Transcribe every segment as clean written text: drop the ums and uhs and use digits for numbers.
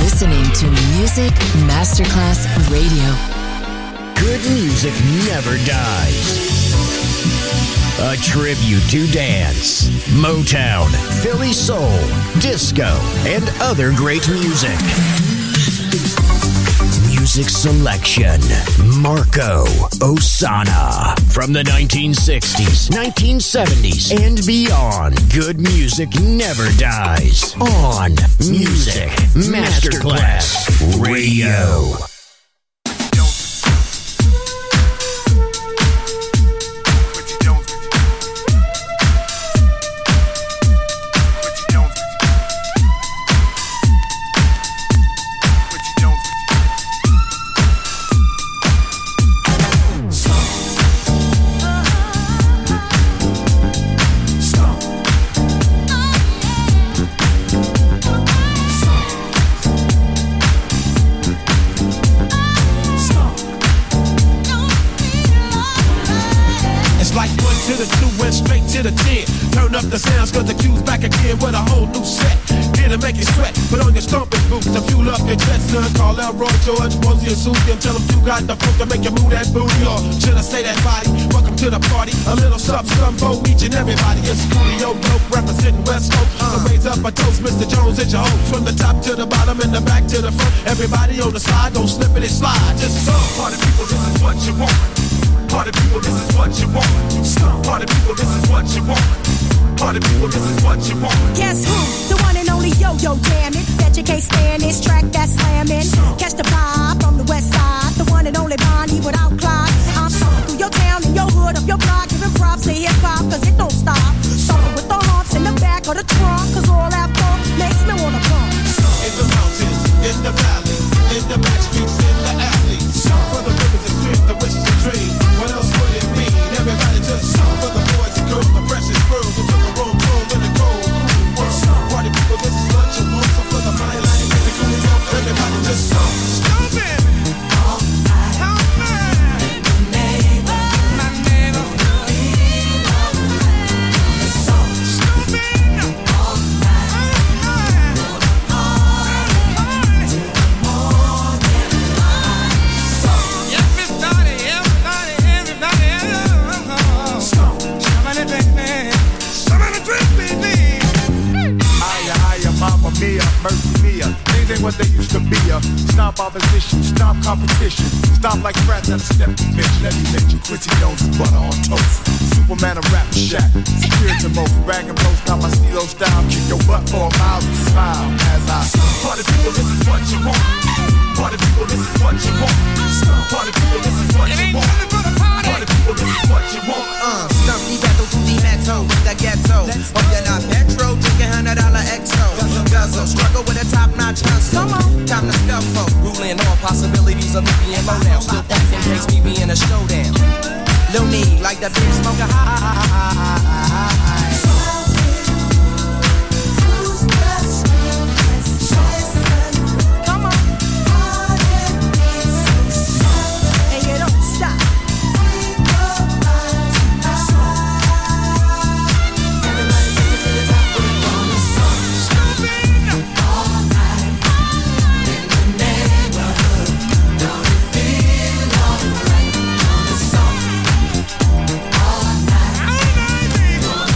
listening to Music Masterclass Radio. Good music never dies. A tribute to dance, Motown, Philly soul, disco, and other great music. Music selection, Marco Ossanna. From the 1960s, 1970s, and beyond, good music never dies. On Music Masterclass Radio. The sounds cause the cue's back again with a whole new set. Here to make you sweat, put on your stomping boots to fuel up your chest, son. Call out Roy George, Rosie and Susie and tell them you got the funk to make you move that booty. Or should I say that body? Welcome to the party. A little something for each and everybody. It's Studio Dope representing West Coast. So raise up a toast, Mr. Jones, hit your hopes. From the top to the bottom and the back to the front. Everybody on the side, don't slip it and slide. Just so. Party people, this is what you want. Party people, this is what you want. Party people, this is what you want. Party people, this is what you want. Guess who? The one and only Yo-Yo, damn it. Bet you can't stand this track that's slamming. Catch the vibe from the west side. The one and only Bonnie without Clyde. I'm talking through your town and your hood, up your block. Giving props to hip-hop, cause it don't stop. Starting with the humps in the back of the trunk. Cause all that funk makes me wanna pump. In the mountains, in the valley, in the back streets, in the alleys. For the rivers and streams, the wishes and dreams. What else would it mean? Everybody just shout for the boys and girls, the precious girls who took a room in the cold world. Party people, this is what you want. So for the money line, and the cool talk, everybody just shout. Stupid! All night. All night. In the neighborhood. My neighborhood. Feel all right. It's so stupid. All night. All night. Party till the morning light. So everybody, everybody, everybody, somebody drink me. Somebody drink me. Hiya, Mamma Mia, Mercy Mia. Things ain't what they used to be. Stomp opposition, stomp competition. Stomp like rats at a step to bitch. Let me let you Quincy Jones butter on toast. Superman of rap shack. Secure the most. Rag and roast out my CeeLo style. Kick your butt for a mile and smile as I. Party people, this is what you want. Party people, this is what you want. Party people, this is what you want. Party people, this is what you want. Stump the ghetto to the metal with the ghetto. Oh, you're not petro, drinking $100 XO. Guzzle, struggle with a top-notch hustle. Time to scuffle, ruling all possibilities of me being low now. Still thinking takes me being a showdown. Lil me like the big smoker high. All night.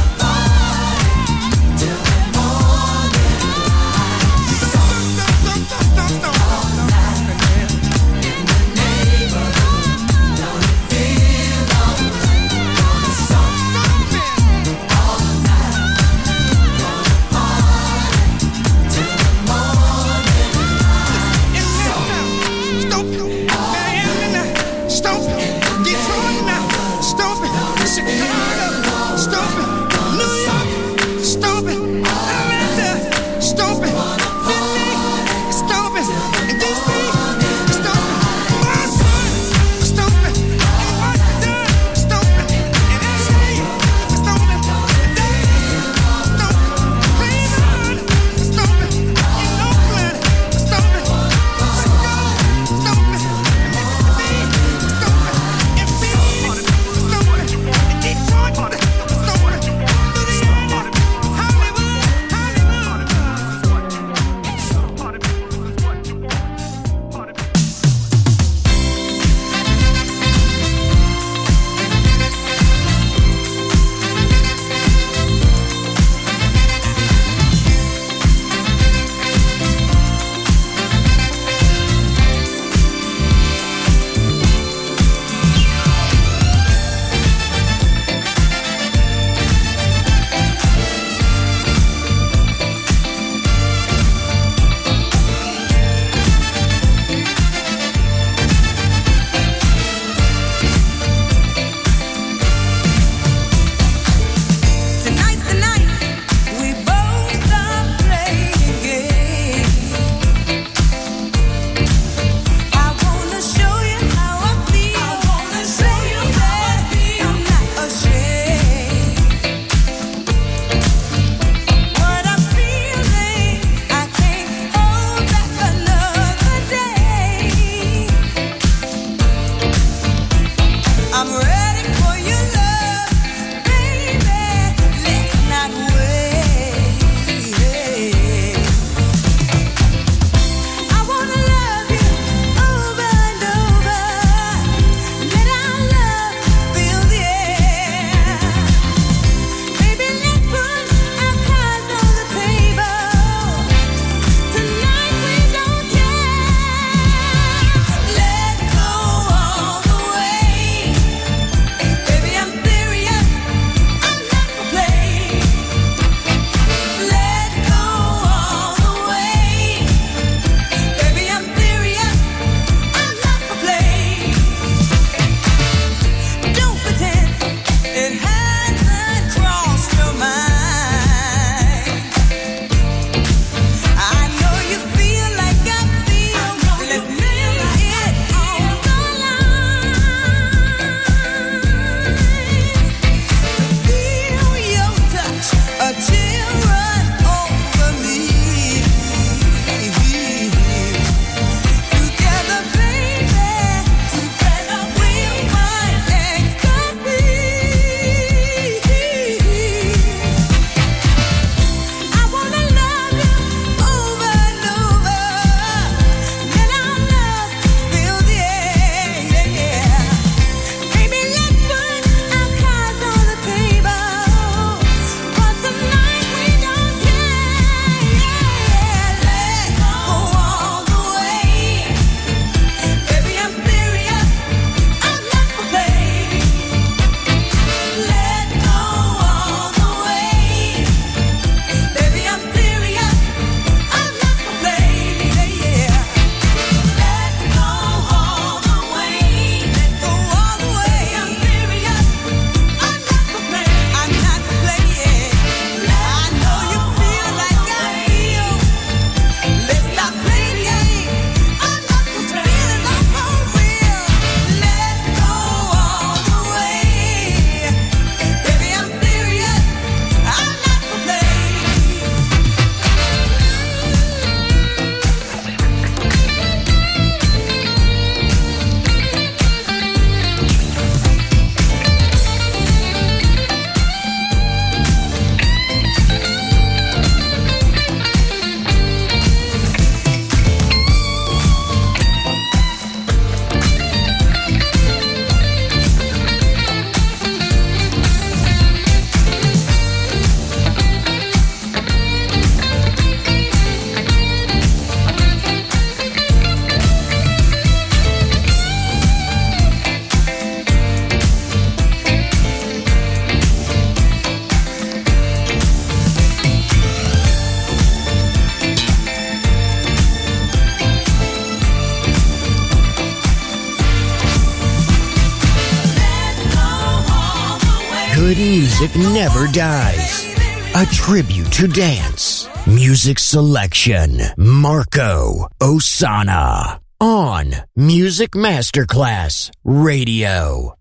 music never dies. A tribute to dance. Music selection. Marco Ossanna. On Music Masterclass Radio.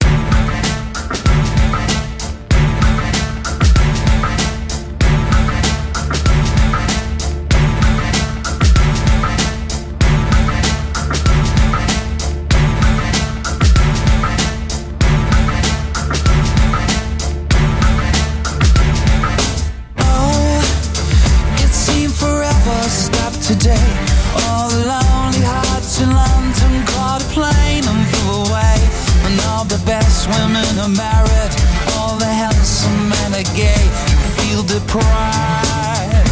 Today, all the lonely hearts in London caught a plane and flew away. And all the best women are married, all the handsome men are gay. You feel deprived.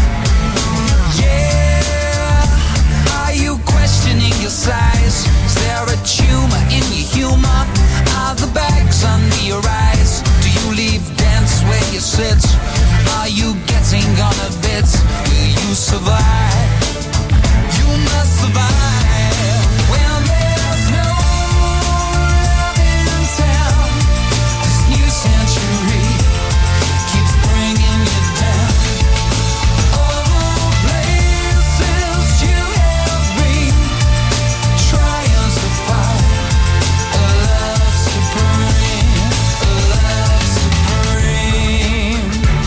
Yeah, are you questioning your size? Is there a tumor in your humor? Are the bags under your eyes? Do you leave dance where you sit? Are you getting on a bit? Will you survive? You must survive when there's no love in town. This new century keeps bringing you down. All the places you have been, trying to find a love supreme, a love supreme.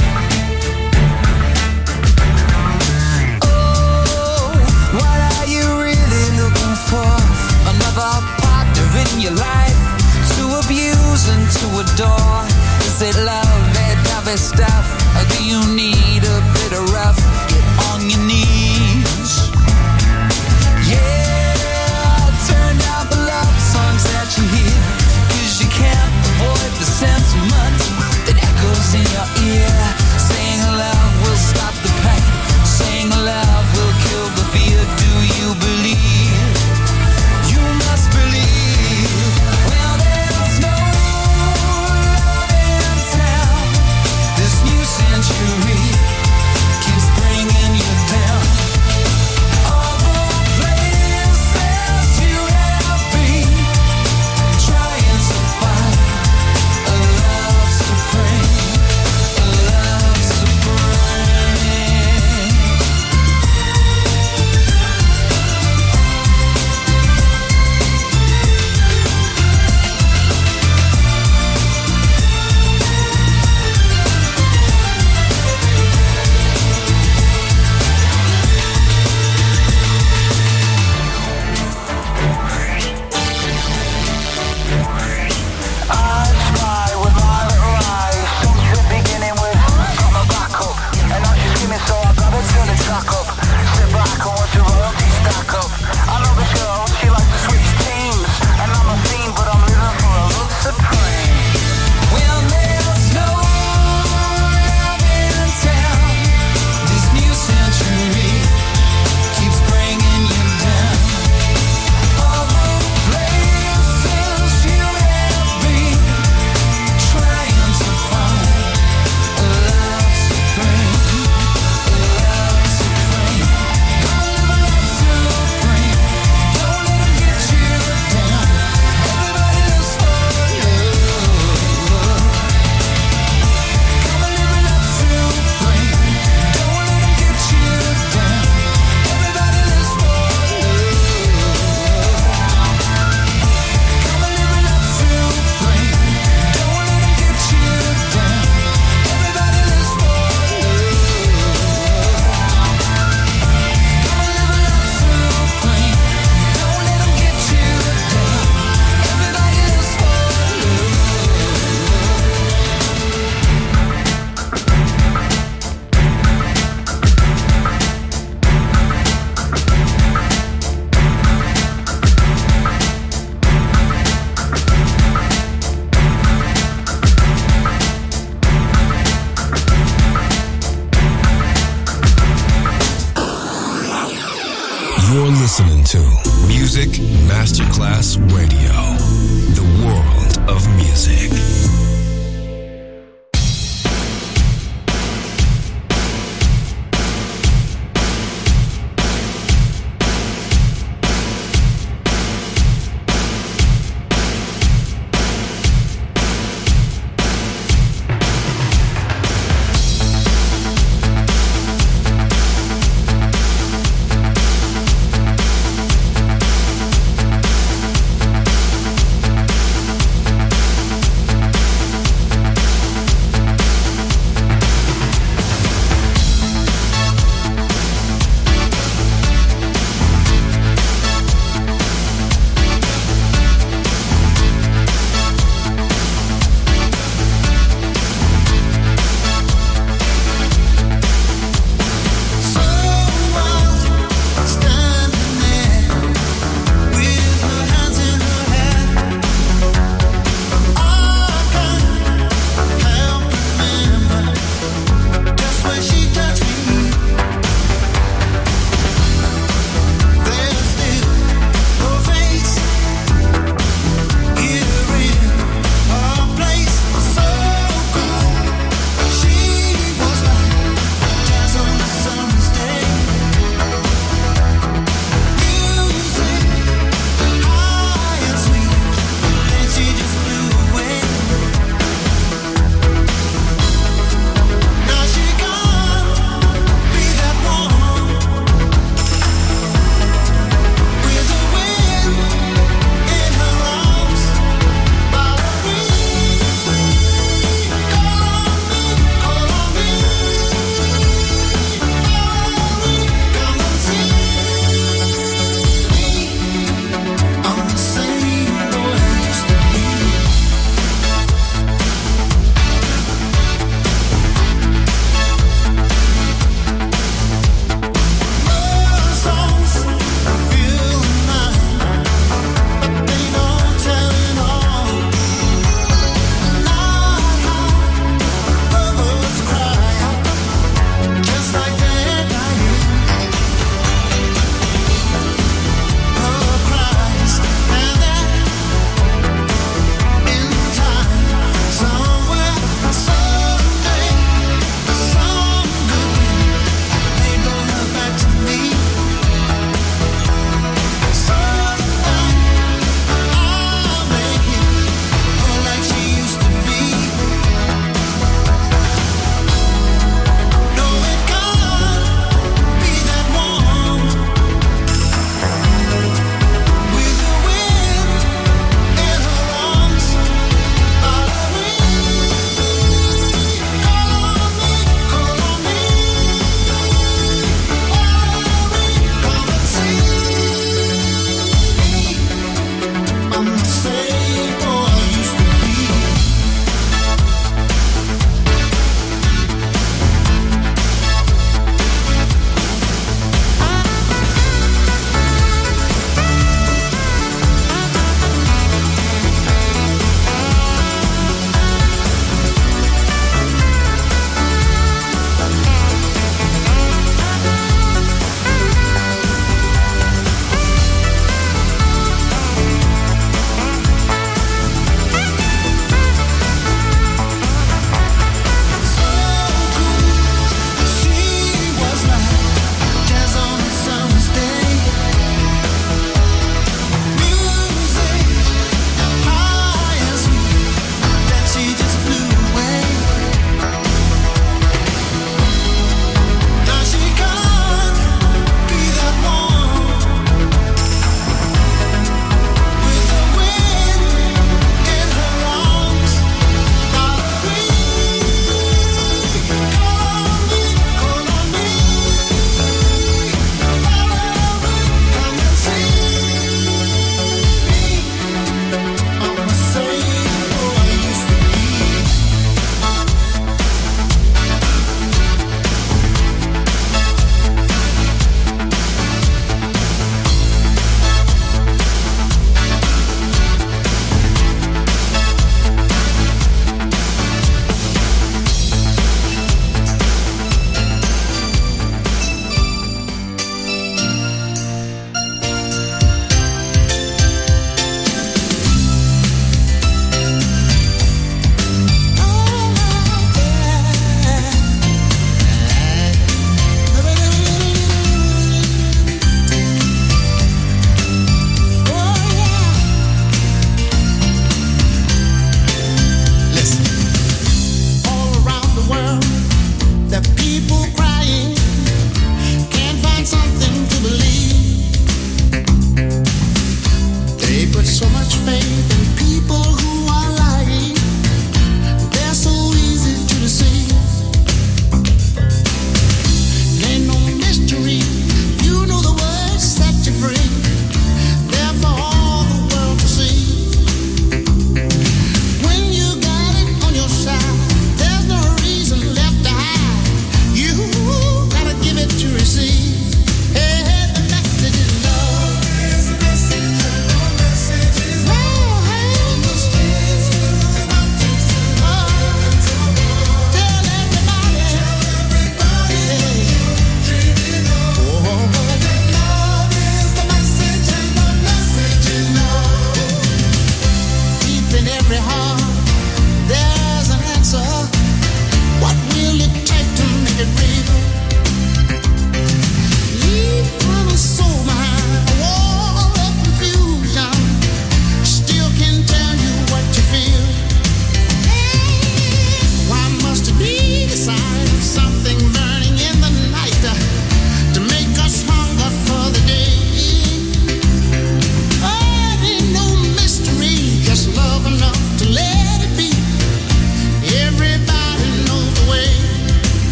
What are you really looking for? Another partner in your life to abuse and to adore? Is it love, that dovey stuff? Or do you need a bit of rough? Get on your knees. Yeah, turn down the love songs that you hear, 'cause you can't avoid the sentiment that echoes in your ear. Saying love will stop the pain, saying love will kill the fear. Do you believe? You must believe. Well, there's no love in town. This new century keeps bringing you down. All the places you have been, trying to find a love supreme, a love supreme. I spy with my little eyes since the beginning with got my back up, and now she's screaming, so I gotta turn the track up. Sit back and watch the royalty stack up. I know this girl, she likes to switch teams, and I'm a fiend, but I'm living for a love supreme. Well, there's no love in town. This new century keeps bringing you down. All the places you have been, trying to find a love supreme, a love supreme. Gonna live a love supreme. Don't let them get you down. Everybody lives for love. Gonna live a love supreme. Don't let them get you down. Everybody lives for love. Gonna live a love supreme. Don't let them get you down. Everybody lives for love. Gonna live a love supreme. Don't let them get you down. Everybody lives for love. You're listening to Music Masterclass Radio, the world of music.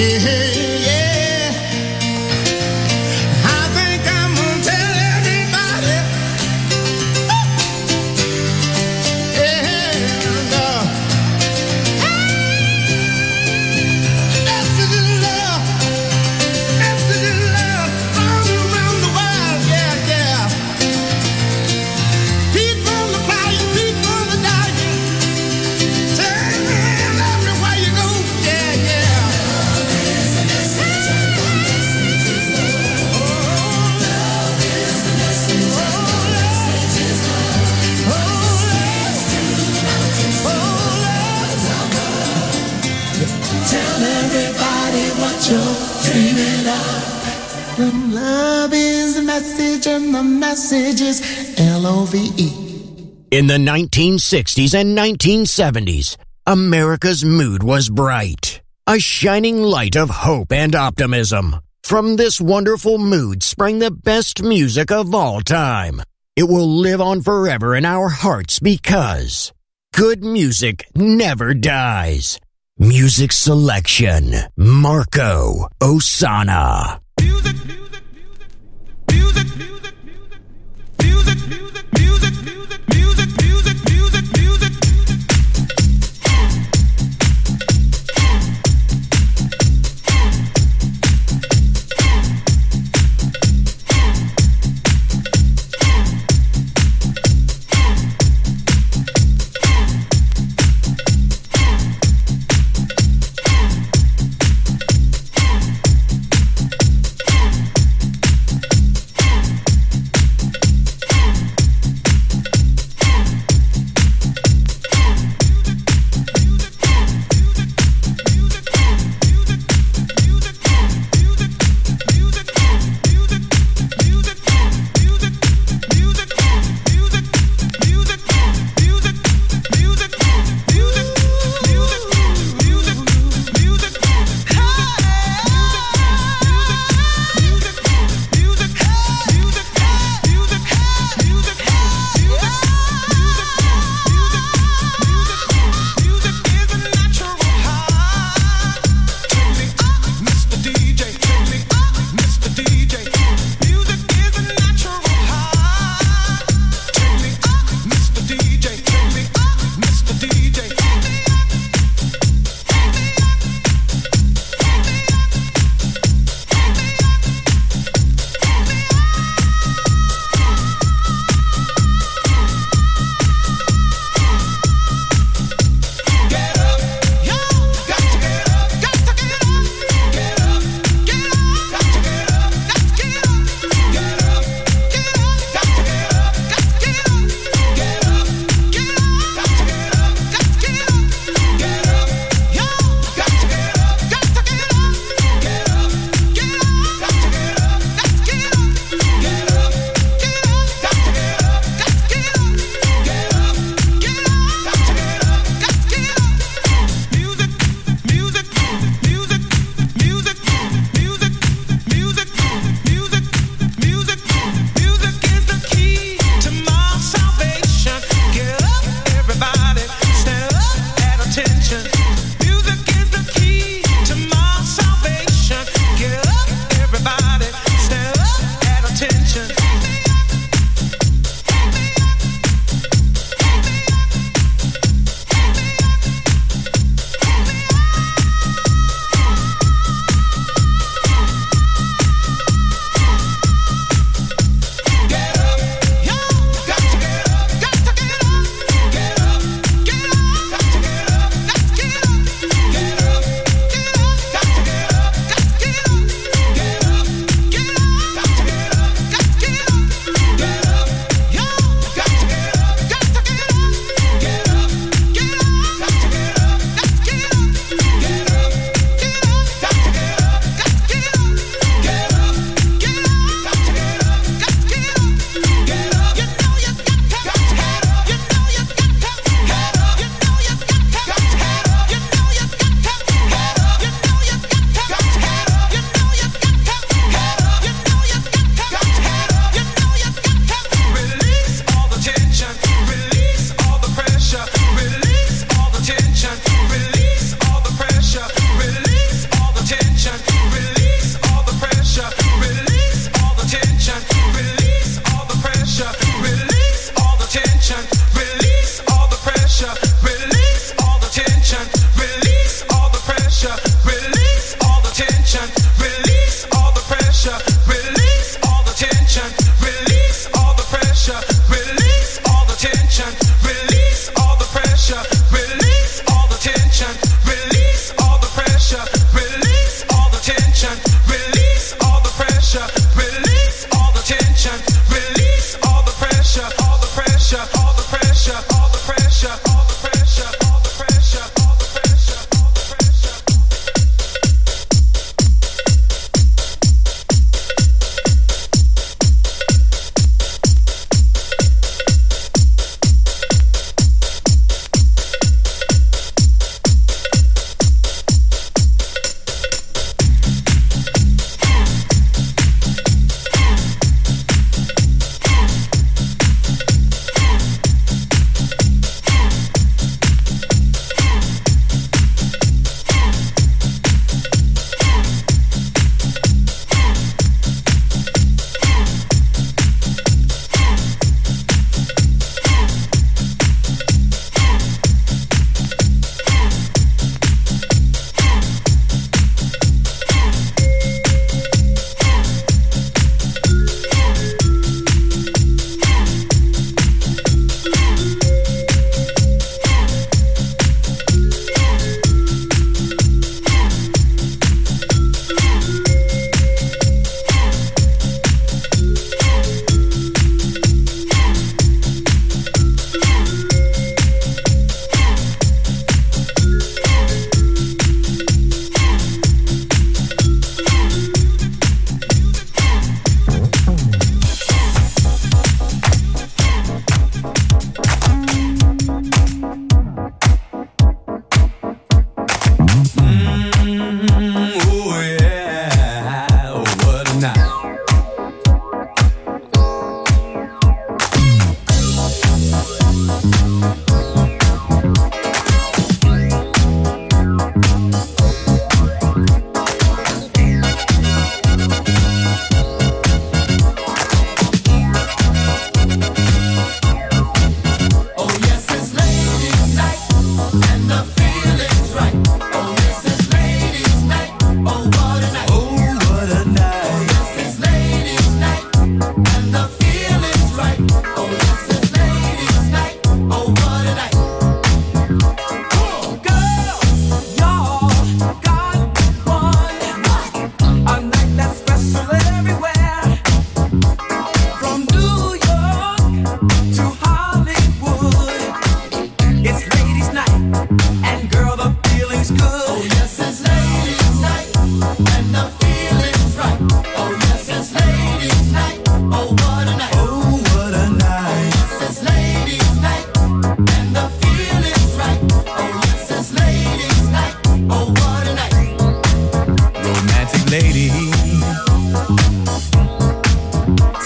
In the 1960s and 1970s, America's mood was bright, a shining light of hope and optimism. From this wonderful mood sprang the best music of all time. It will live on forever in our hearts because good music never dies. Music selection, Marco Ossanna. Music, music, music, music, music, music, music, music, music, music, music, music, music.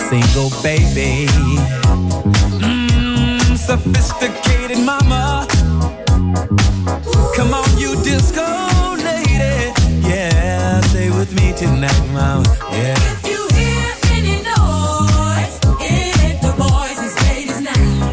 single baby. Sophisticated mama. Come on, you disco lady. Yeah, stay with me tonight, mama. Yeah. If you hear any noise, it ain't the boys, it's ladies night.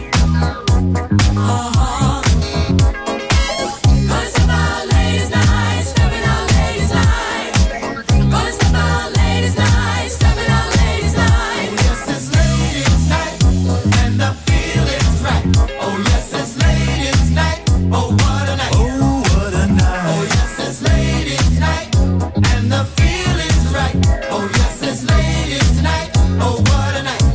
Gonna step out ladies night, stepping out ladies night. Gonna step out ladies night, stepping out ladies night. Oh yes, it's ladies night, and the feeling's right. Oh yes, it's ladies night. Oh what a night. Oh, what a night. Oh yes, it's ladies night, and the feeling's right. Oh yes, it's ladies night. Oh what a night.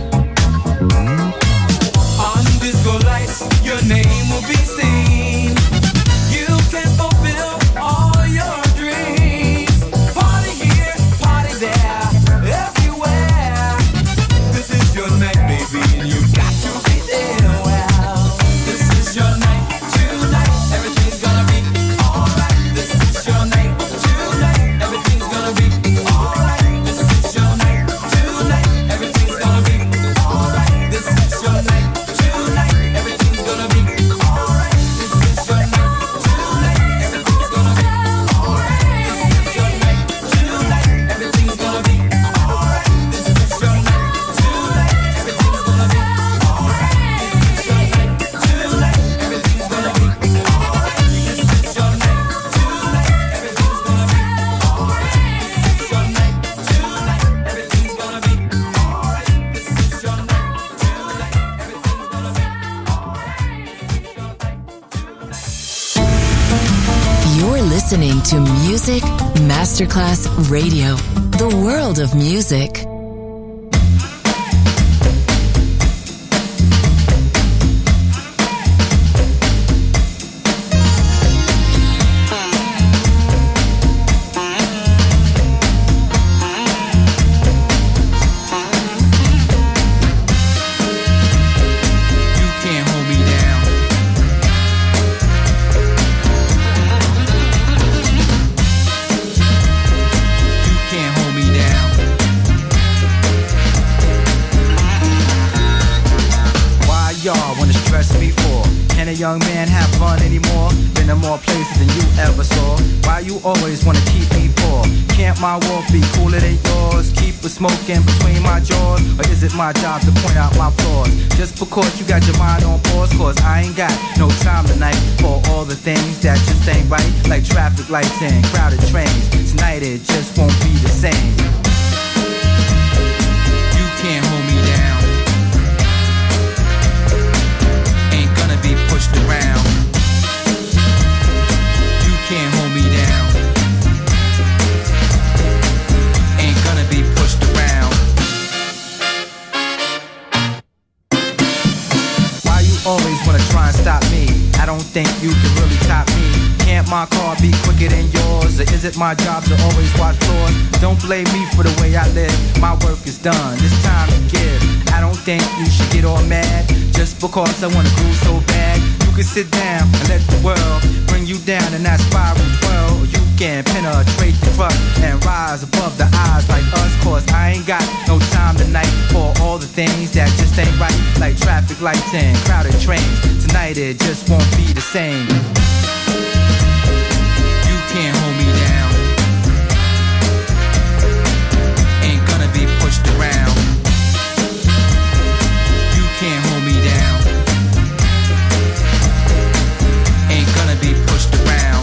On disco lights, your name will be seen. You can fulfill all your dreams. Party here, party there, everywhere. This is your night, baby, and you got to be there. Well, this is your night tonight. Everything's gonna be alright. This is your night tonight. Everything's gonna be alright. This is your night tonight. Everything's gonna be alright. This is your night tonight. Everything's gonna be alright. This is your night tonight. Everything's gonna be alright. This is your night tonight. Everything's gonna be alright. This is your night tonight. Everything's gonna be alright. This is your night tonight. Everything's gonna be alright. This is your night tonight. Everything's gonna be alright. This is your night tonight. Everything's gonna be alright. This is your night tonight. Everything's gonna be You're listening to Music Masterclass Radio, the world of music. You can't hold me down. You can't hold me down. Why y'all wanna stress me for? Can a young man have fun anymore? Been in more places than you ever saw. Why you always wanna keep me poor? Can't my walk be cooler than yours? Keep a smoking between my jaws? Or is it my job to point out my flaws? Just because you got your mind on pause, cause I ain't got no time tonight for all the things that just ain't right. Like traffic lights and crowded trains. Tonight it just won't be the same. You can't hold me down. Ain't gonna be pushed around. You can't hold me down. Ain't gonna be pushed around. Why you always wanna try and stop me? I don't think you can really top me. Can't my car be quicker than yours? Or is it my job to always watch floors? Don't blame me for the way I live. My work is done, it's time to give. I don't think you should get all mad just because I wanna groove so bad. You can sit down and let the world bring you down in that spiral twirl. Or you can penetrate the crust and rise above the eyes like us. Cause I ain't got no time tonight for all the things that just ain't right. Like traffic lights and crowded trains. Tonight it just won't be the same. You can't hold me down. Ain't gonna be pushed around. You can't hold me down. Ain't gonna be pushed around.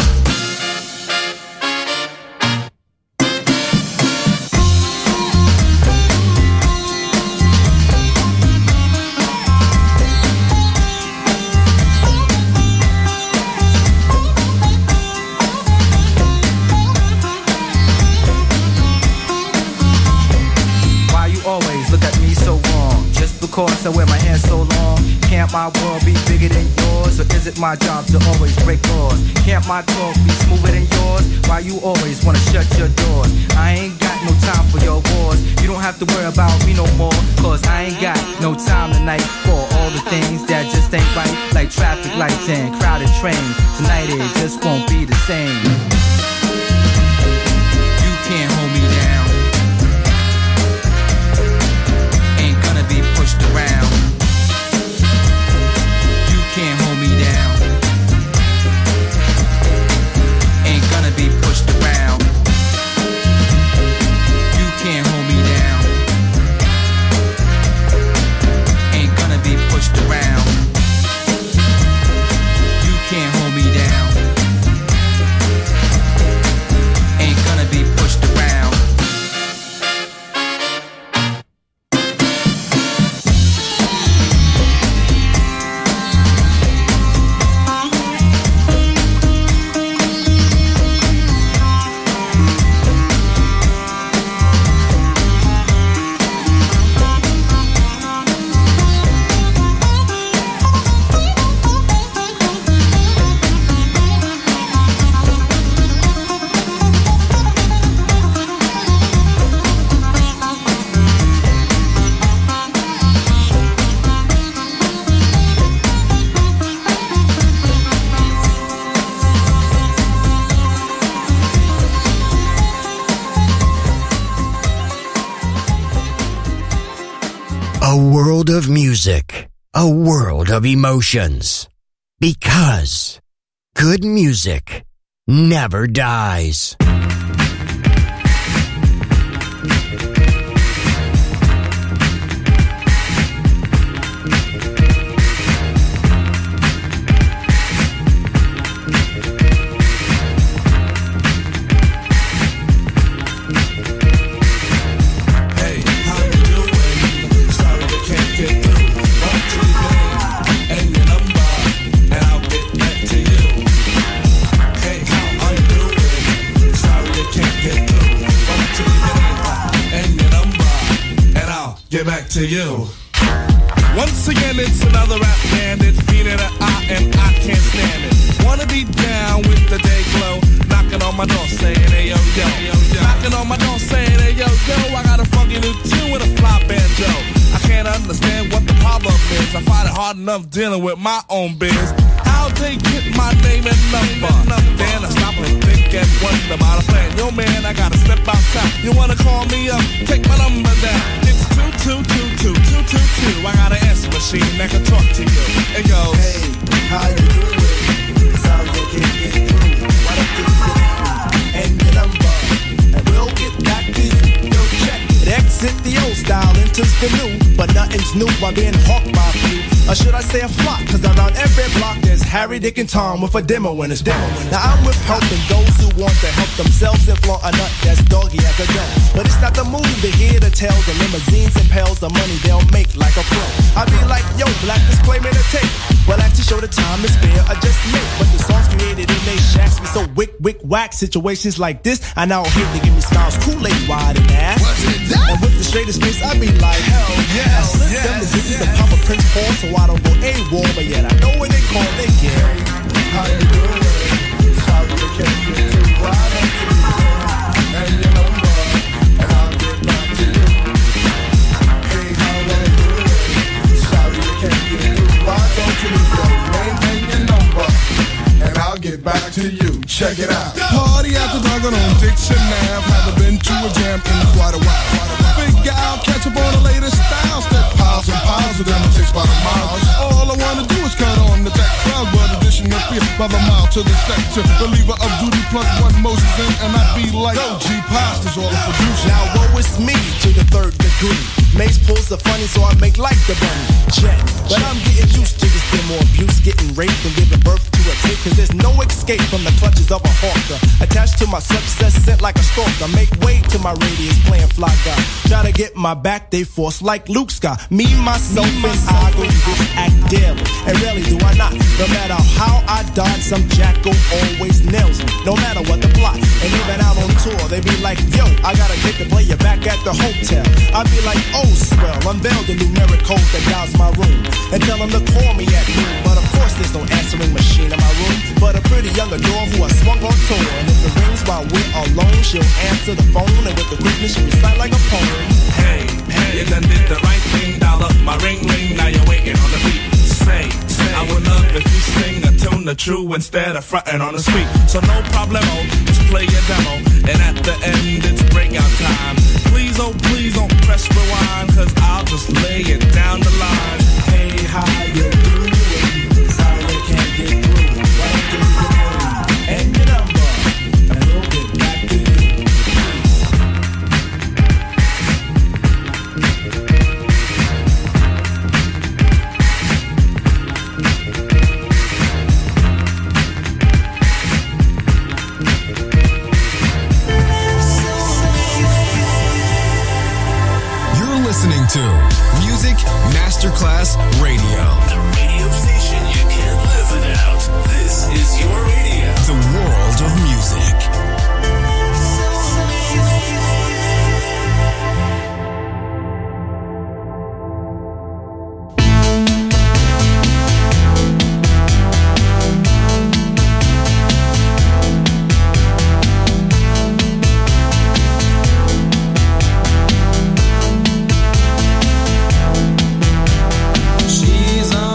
Always look at me so wrong. Just because I wear my hair so long. Can't my world be bigger than yours? Or is it my job to always break laws? Can't my talk be smoother than yours? Why you always wanna shut your doors? I ain't got no time for your wars. You don't have to worry about me no more. Cause I ain't got no time tonight for all the things that just ain't right. Like traffic lights and crowded trains. Tonight it just won't be the same. You can't hold me down. Ain't gonna A world of music, a world of emotions. Because good music never dies. Get back to you. Once again, it's another rap bandit, feeling an eye and I can't stand it. Wanna be down with the day glow, knocking on my door saying, hey yo yo, knocking on my door saying, hey yo yo, I got a funky new tune with a fly banjo. I can't understand what the problem is. I find it hard enough dealing with my own biz. How they get my name and number? Then I stop and think and wonder about a plan. Yo man, I gotta step outside. You wanna call me up? Take my number down. It's 2222222. I got an answer machine that can talk to you. It goes, hey, how you doing? Sorry I can't get through. Why don't you get through? And your number, and we'll get back to you. Yo, check it. Exit the old style, enters the new. But nothing's new by being hawked by a few. Or should I say a flock? Cause around every block there's Harry, Dick, and Tom with a demo in his demo. Now I'm with helping those who want to help themselves and flaunt a nut that's doggy as a gun. But it's not the move to hear the tales of limousines and pails of money they'll make like a pro. I be like, yo, black display made a tape. Well, I like to show the time is fair, I just make. But the songs created in they shacks be so wick, whack. Situations like this, I now hate to give me smiles, Kool-Aid wide and ass. And with the straightest face, I be like, hell yes. I slip them the digits to Papa Prince Paul, so I don't go AWOL, but yet I know when they call, they get. How you doing? Sorry I can't get too wide up to you. And your number, and I'll get back to you. Hey, how you doing? Sorry I can't get too wide up to you. Name and your number, and I'll get back to you. Check it out. Party after dark on Dixon Ave. Haven't been to a jam in quite a while. Figure out, catch up on the latest styles. That piles and piles of them takes by the miles. All I wanna do is cut on the deck. Crowd word edition up here by the mile to the sector. Believer of duty plus one Moses in, and I be like, yo, G Pasta's all the producer. Now woe is me to the third degree. Mace pulls the funny, so I make like the bunny. Check. But I'm getting used to this demo abuse, getting raped and giving birth to a kid. Cause there's no escape from the clutches of a hawker. Attached to my success, sent like a stalker. Make way to my radius, playing fly guy. Try to get my back, they force like Luke Scott. Me, myself, and I go this act daily. And rarely do I not. No matter how I dodge, some jackal always nails me. No matter what the plot. And even out on tour, they be like, yo, I gotta get the player back at the hotel. I be like, oh, swell, unveil the numeric code that dials my room. And tell them to call me at noon. But of course there's no answering machine in my room. But a pretty young adore who I swung on tour. And if it rings while we're alone, she'll answer the phone. And with the quickness she'll recite like a poem. Hey, you done did the right thing. Dial up my ring, now you're waiting on the beat. Say, I would love if you sing a tune the true instead of frontin' on the street. So no problemo, just play your demo. And at the end it's breakout time. Please, oh please don't press rewind, cause I'll just lay it down the line. Hey, how you doing? Sorry I can't get through. Why don't you get in? And your number, and we'll get back to you. Listening to Music Masterclass Radio. The radio station you can't live without. This is your radio. The world of music. She's on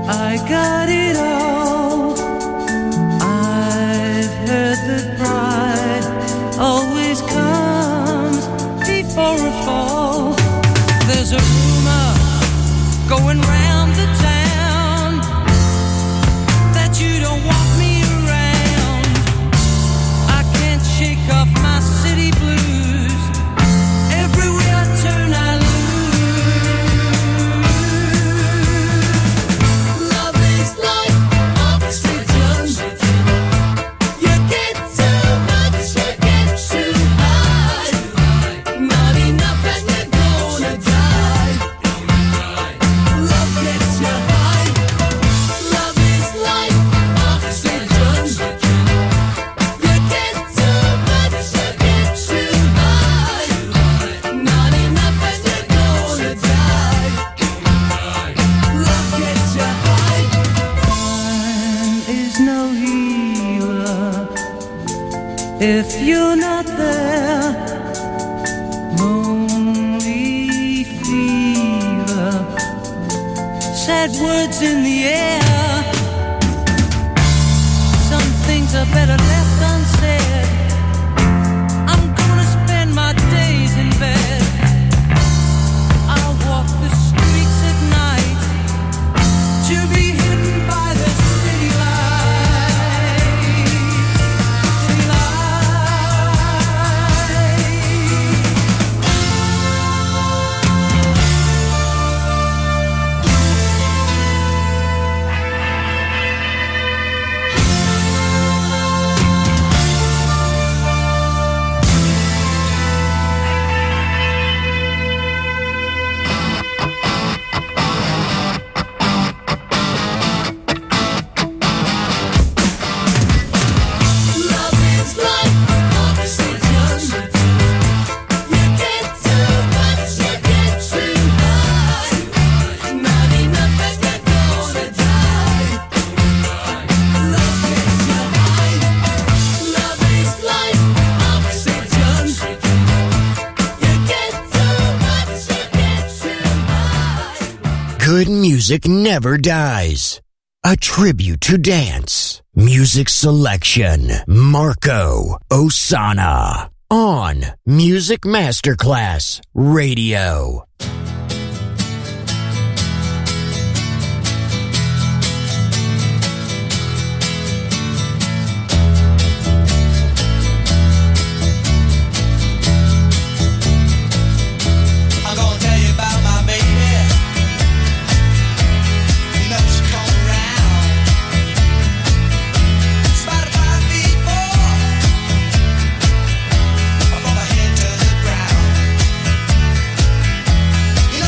I got it all. I've heard that pride always comes before a fall. There's a rumor going round the town that you don't want me around. I can't shake off my city blues. Everywhere I turn I lose. Love is like oxygen. You get too much, you get too high. Not enough and you're gonna die. Love gets you high. Love is like oxygen. You get too much, you get too high. Not enough and you're gonna die. Love gets you high. Time is no healer if you're not there. Lonely fever, sad words in the air. Some things are better left unsaid. I'm gonna spend my days in bed. I'll walk the streets at night to be hidden by the city lights. City Love is like oxygen. You get too much, you get too high. Not enough and you're gonna die. Love gets you high. Love is like oxygen. You get too much, you get too high. Good music never dies. A tribute to dance. Music selection. Marco Ossanna. On Music Masterclass Radio. I'm gonna tell you about my baby. You know she come around. About 5 feet 4, from her head to the ground.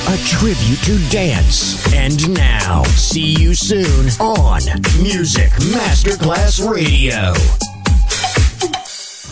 a tribute to dance. And now, see you soon on Music Masterclass Radio.